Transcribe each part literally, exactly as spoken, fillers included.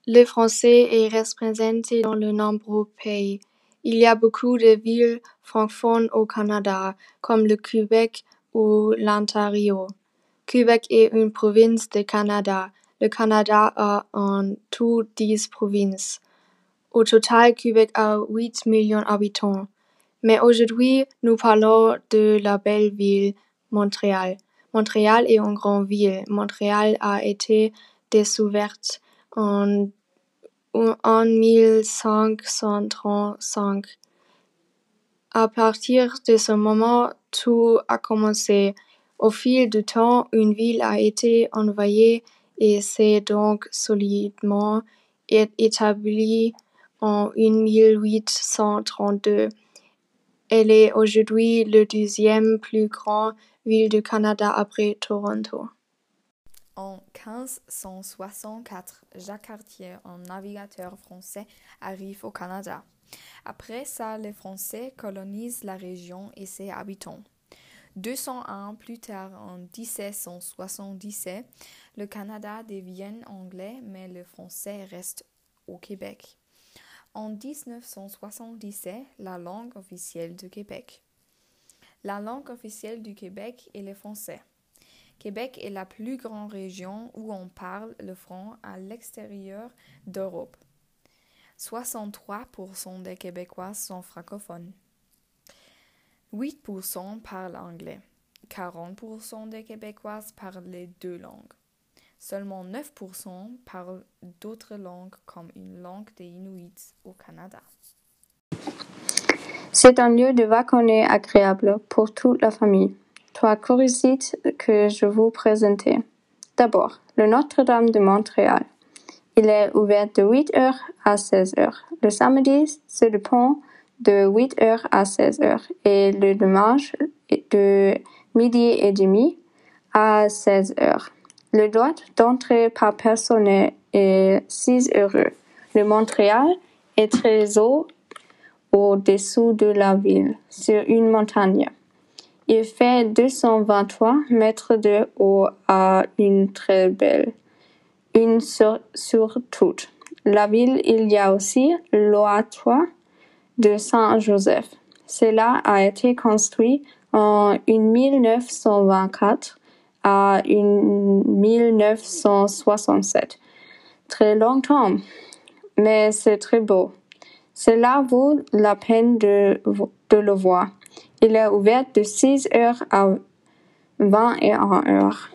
Le français est représenté dans de nombreux pays. Il y a beaucoup de villes francophones au Canada, comme le Québec ou l'Ontario. Québec est une province du Canada. Le Canada a en tout dix provinces. Au total, Québec a huit millions d'habitants. Mais aujourd'hui, nous parlons de la belle ville, Montréal. Montréal est une grande ville. Montréal a été découverte en, en mille cinq cent trente-cinq. À partir de ce moment, tout a commencé. Au fil du temps, une ville a été envahie et s'est donc solidement établie en mille huit cent trente-deux. Elle est aujourd'hui la deuxième plus grande ville du Canada après Toronto. En quinze cent soixante-quatre, Jacques Cartier, un navigateur français, arrive au Canada. Après ça, les Français colonisent la région et ses habitants. deux cents ans plus tard, en dix-sept cent soixante-dix-sept, le Canada devient anglais, mais le français reste au Québec. En dix-neuf cent soixante-dix-sept, la langue officielle du Québec. La langue officielle du Québec est le français. Québec est la plus grande région où on parle le franc à l'extérieur d'Europe. soixante-trois pour cent des Québécois sont francophones. huit pour cent parlent anglais. quarante pour cent des Québécois parlent les deux langues. Seulement neuf pour cent parlent d'autres langues comme une langue des Inuits au Canada. C'est un lieu de vacances agréable pour toute la famille. Trois curiosités que je vous présente. D'abord, le Notre-Dame de Montréal. Il est ouvert de huit heures à seize heures. Le samedi, c'est le pont de huit heures à seize heures et le dimanche de midi et demi à seize heures. Le droit d'entrée par personne est six euros. Le Montréal est très haut au-dessous de la ville, sur une montagne. Il fait deux cent vingt-trois mètres de haut à une très belle. Une sur, sur toute la ville, il y a aussi l'Oatoire de Saint-Joseph. Cela a été construit en mille neuf cent vingt-quatre à mille neuf cent soixante-sept. Très longtemps, mais c'est très beau. Cela vaut la peine de, de le voir. Il est ouvert de six heures à vingt et une heures.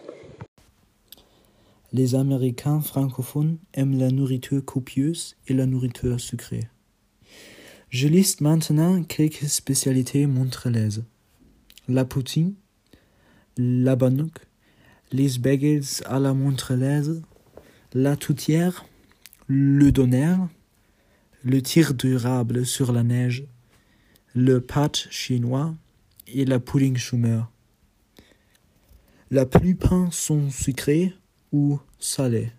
Les Américains francophones aiment la nourriture copieuse et la nourriture sucrée. Je liste maintenant quelques spécialités montréalaises. La poutine, la bannock, les bagels à la montréalaise, la toutière, le doner, le tir d'érable sur la neige, le pâte chinois et la pudding chômeur. La plupart sont sucrés ou salés.